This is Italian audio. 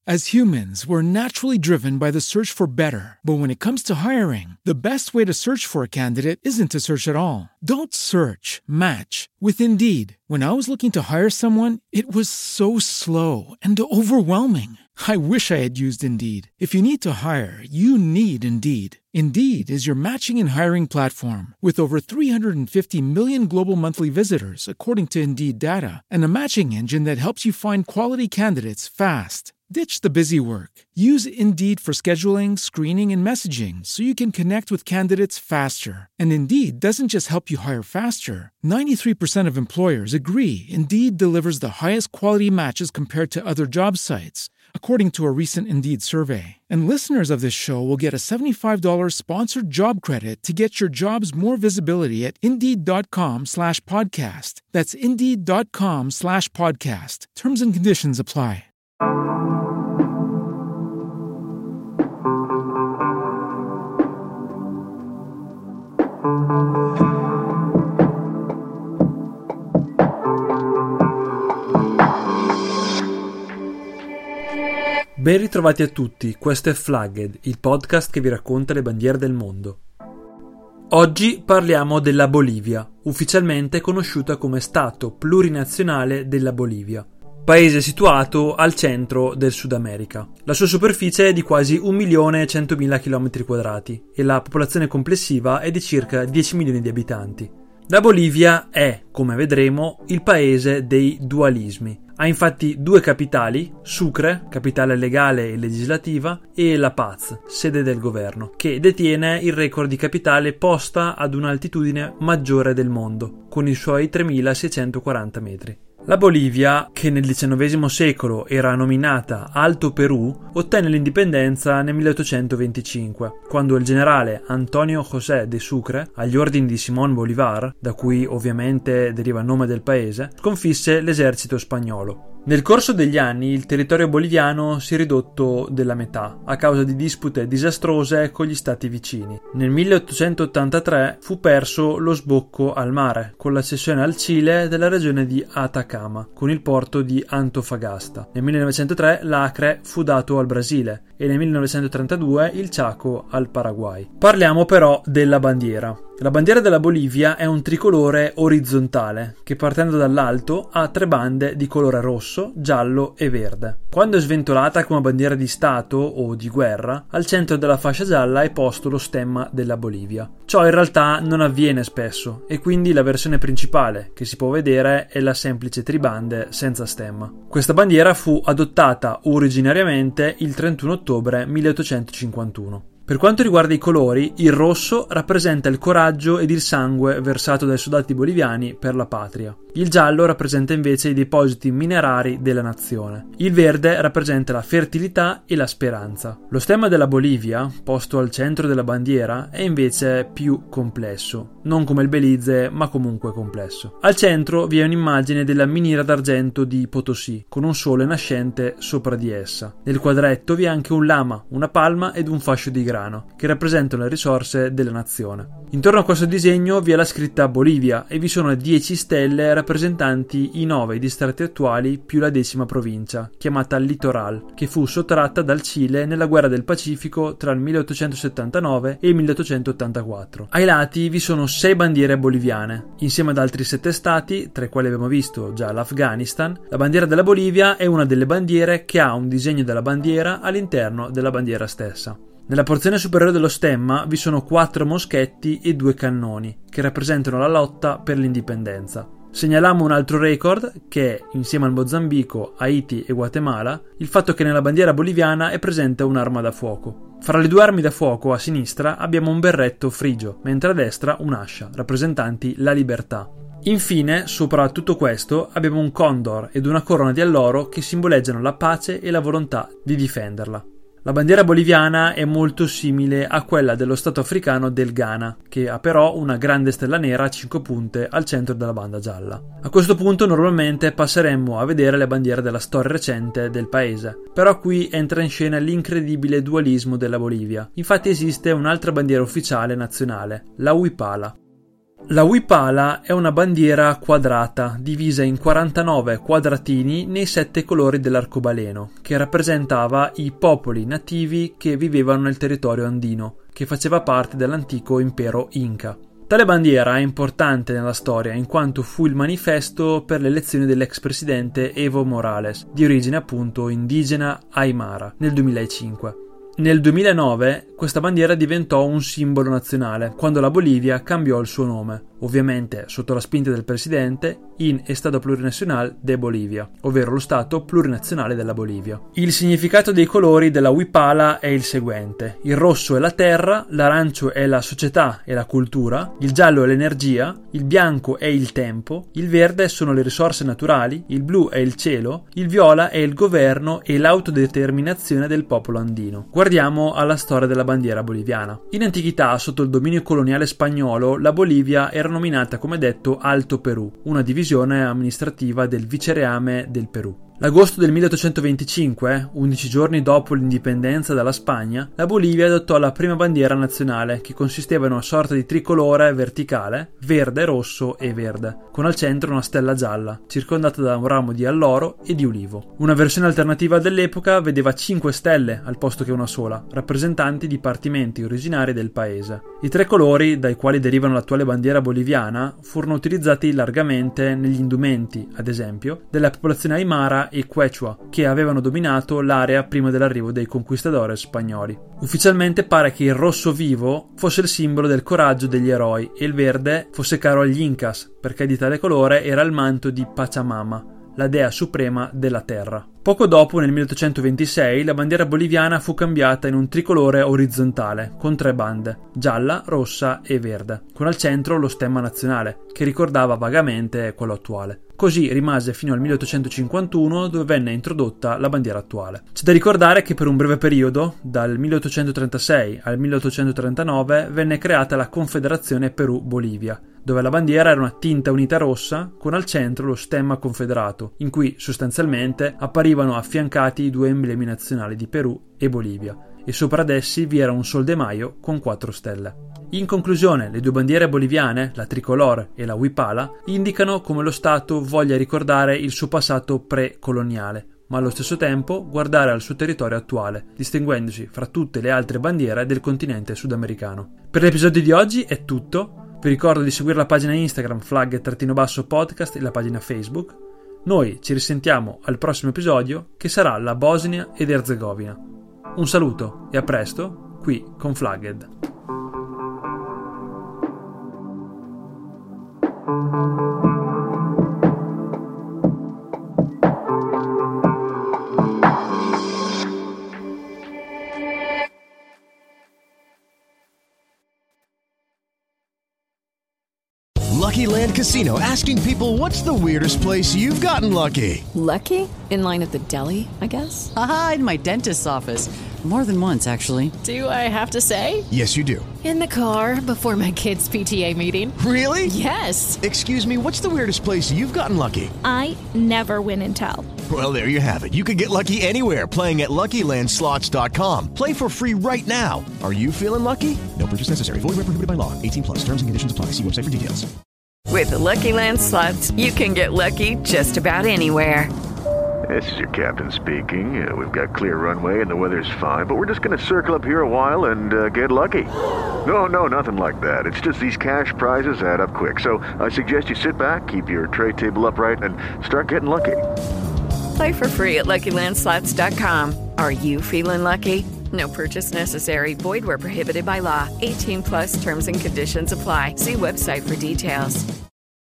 As humans, we're naturally driven by the search for better. But when it comes to hiring, the best way to search for a candidate isn't to search at all. Don't search, match with Indeed. When I was looking to hire someone, it was so slow and overwhelming. I wish I had used Indeed. If you need to hire, you need Indeed. Indeed is your matching and hiring platform with over 350 million global monthly visitors, according to Indeed data, and a matching engine that helps you find quality candidates fast. Ditch the busy work. Use Indeed for scheduling, screening, and messaging so you can connect with candidates faster. And Indeed doesn't just help you hire faster. 93% of employers agree Indeed delivers the highest quality matches compared to other job sites, according to a recent Indeed survey. And listeners of this show will get a $75 sponsored job credit to get your jobs more visibility at Indeed.com/podcast. That's Indeed.com/podcast. Terms and conditions apply. Ben ritrovati a tutti, questo è Flagged, il podcast che vi racconta le bandiere del mondo. Oggi parliamo della Bolivia, ufficialmente conosciuta come Stato plurinazionale della Bolivia, paese situato al centro del Sud America. La sua superficie è di quasi 1.100.000 km² e la popolazione complessiva è di circa 10 milioni di abitanti. La Bolivia è, come vedremo, il paese dei dualismi. Ha infatti due capitali, Sucre, capitale legale e legislativa, e La Paz, sede del governo, che detiene il record di capitale posta ad un'altitudine maggiore del mondo, con i suoi 3.640 metri. La Bolivia, che nel XIX secolo era nominata Alto Perù, ottenne l'indipendenza nel 1825, quando il generale Antonio José de Sucre, agli ordini di Simón Bolívar, da cui ovviamente deriva il nome del paese, sconfisse l'esercito spagnolo. Nel corso degli anni il territorio boliviano si è ridotto della metà a causa di dispute disastrose con gli stati vicini. Nel 1883 fu perso lo sbocco al mare con la cessione al Cile della regione di Atacama con il porto di Antofagasta. Nel 1903 l'Acre fu dato al Brasile e nel 1932 il Chaco al Paraguay. Parliamo però della bandiera. La bandiera della Bolivia è un tricolore orizzontale che, partendo dall'alto, ha tre bande di colore rosso, giallo e verde. Quando è sventolata come bandiera di Stato o di guerra, al centro della fascia gialla è posto lo stemma della Bolivia. Ciò in realtà non avviene spesso e quindi la versione principale che si può vedere è la semplice tribande senza stemma. Questa bandiera fu adottata originariamente il 31 ottobre 1851. Per quanto riguarda i colori, il rosso rappresenta il coraggio ed il sangue versato dai soldati boliviani per la patria. Il giallo rappresenta invece i depositi minerari della nazione. Il verde rappresenta la fertilità e la speranza. Lo stemma della Bolivia, posto al centro della bandiera, è invece più complesso. Non come il Belize, ma comunque complesso. Al centro vi è un'immagine della miniera d'argento di Potosí, con un sole nascente sopra di essa. Nel quadretto vi è anche un lama, una palma ed un fascio di grano, che rappresentano le risorse della nazione. Intorno a questo disegno vi è la scritta Bolivia e vi sono 10 stelle rappresentanti i 9 distretti attuali più la 10ª provincia, chiamata Litoral, che fu sottratta dal Cile nella guerra del Pacifico tra il 1879 e il 1884. Ai lati vi sono 6 bandiere boliviane, insieme ad altri 7 stati, tra i quali abbiamo visto già l'Afghanistan. La bandiera della Bolivia è una delle bandiere che ha un disegno della bandiera all'interno della bandiera stessa. Nella porzione superiore dello stemma vi sono 4 moschetti e 2 cannoni, che rappresentano la lotta per l'indipendenza. Segnaliamo un altro record che, insieme al Mozambico, Haiti e Guatemala, il fatto che nella bandiera boliviana è presente un'arma da fuoco. Fra le 2 armi da fuoco a sinistra abbiamo un berretto frigio, mentre a destra un'ascia, rappresentanti la libertà. Infine, sopra tutto questo, abbiamo un condor ed una corona di alloro che simboleggiano la pace e la volontà di difenderla. La bandiera boliviana è molto simile a quella dello stato africano del Ghana, che ha però una grande stella nera a 5 punte al centro della banda gialla. A questo punto normalmente passeremmo a vedere le bandiere della storia recente del paese, però qui entra in scena l'incredibile dualismo della Bolivia. Infatti esiste un'altra bandiera ufficiale nazionale, la Huipala. La Wipala è una bandiera quadrata, divisa in 49 quadratini nei 7 colori dell'arcobaleno, che rappresentava i popoli nativi che vivevano nel territorio andino, che faceva parte dell'antico impero Inca. Tale bandiera è importante nella storia in quanto fu il manifesto per l'elezione dell'ex presidente Evo Morales, di origine appunto indigena Aymara, nel 2005. Nel 2009 questa bandiera diventò un simbolo nazionale, quando la Bolivia cambiò il suo nome, ovviamente sotto la spinta del presidente, in Estado Plurinacional de Bolivia, ovvero lo Stato plurinazionale della Bolivia. Il significato dei colori della Wipala è il seguente: il rosso è la terra, l'arancio è la società e la cultura, il giallo è l'energia, il bianco è il tempo, il verde sono le risorse naturali, il blu è il cielo, il viola è il governo e l'autodeterminazione del popolo andino. Guardiamo alla storia della bandiera boliviana. In antichità, sotto il dominio coloniale spagnolo, la Bolivia era nominata come detto Alto Perù, una divisione amministrativa del vicereame del Perù. L'agosto del 1825, 11 giorni dopo l'indipendenza dalla Spagna, la Bolivia adottò la prima bandiera nazionale, che consisteva in una sorta di tricolore verticale, verde, rosso e verde, con al centro una stella gialla, circondata da un ramo di alloro e di ulivo. Una versione alternativa dell'epoca vedeva 5 stelle al posto che una sola, rappresentanti dipartimenti originari del paese. I 3 colori, dai quali derivano l'attuale bandiera boliviana, furono utilizzati largamente negli indumenti, ad esempio, della popolazione Aymara e Quechua, che avevano dominato l'area prima dell'arrivo dei conquistadores spagnoli. Ufficialmente pare che il rosso vivo fosse il simbolo del coraggio degli eroi e il verde fosse caro agli Incas, perché di tale colore era il manto di Pachamama, la dea suprema della terra. Poco dopo, nel 1826, la bandiera boliviana fu cambiata in un tricolore orizzontale, con 3 bande, gialla, rossa e verde, con al centro lo stemma nazionale, che ricordava vagamente quello attuale. Così rimase fino al 1851, dove venne introdotta la bandiera attuale. C'è da ricordare che per un breve periodo, dal 1836 al 1839, venne creata la Confederazione Perù-Bolivia, dove la bandiera era una tinta unita rossa con al centro lo stemma confederato, in cui sostanzialmente apparivano affiancati i 2 emblemi nazionali di Perù e Bolivia, e sopra ad essi vi era un sol de Mayo con 4 stelle. In conclusione, le 2 bandiere boliviane, la tricolore e la Wipala, indicano come lo Stato voglia ricordare il suo passato pre-coloniale, ma allo stesso tempo guardare al suo territorio attuale, distinguendosi fra tutte le altre bandiere del continente sudamericano. Per l'episodio di oggi è tutto. Vi ricordo di seguire la pagina Instagram flag_podcast e la pagina Facebook. Noi ci risentiamo al prossimo episodio, che sarà la Bosnia ed Erzegovina. Un saluto e a presto qui con Flagged. Lucky Land Casino, asking people, what's the weirdest place you've gotten lucky? Lucky? In line at the deli, I guess? Aha, in my dentist's office. More than once, actually. Do I have to say? Yes, you do. In the car before my kids' PTA meeting. Really? Yes. Excuse me, what's the weirdest place you've gotten lucky? I never win and tell. Well, there you have it. You can get lucky anywhere, playing at LuckyLandSlots.com. Play for free right now. Are you feeling lucky? No purchase necessary. Void where prohibited by law. 18+. Terms and conditions apply. See website for details. With the Lucky Land Slots, you can get lucky just about anywhere. This is your captain speaking. We've got clear runway and the weather's fine, but we're just going to circle up here a while and get lucky. No, nothing like that. It's just these cash prizes add up quick. So I suggest you sit back, keep your tray table upright, and start getting lucky. Play for free at LuckyLandSlots.com. Are you feeling lucky? No purchase necessary. Void where prohibited by law. 18+ terms and conditions apply. See website for details.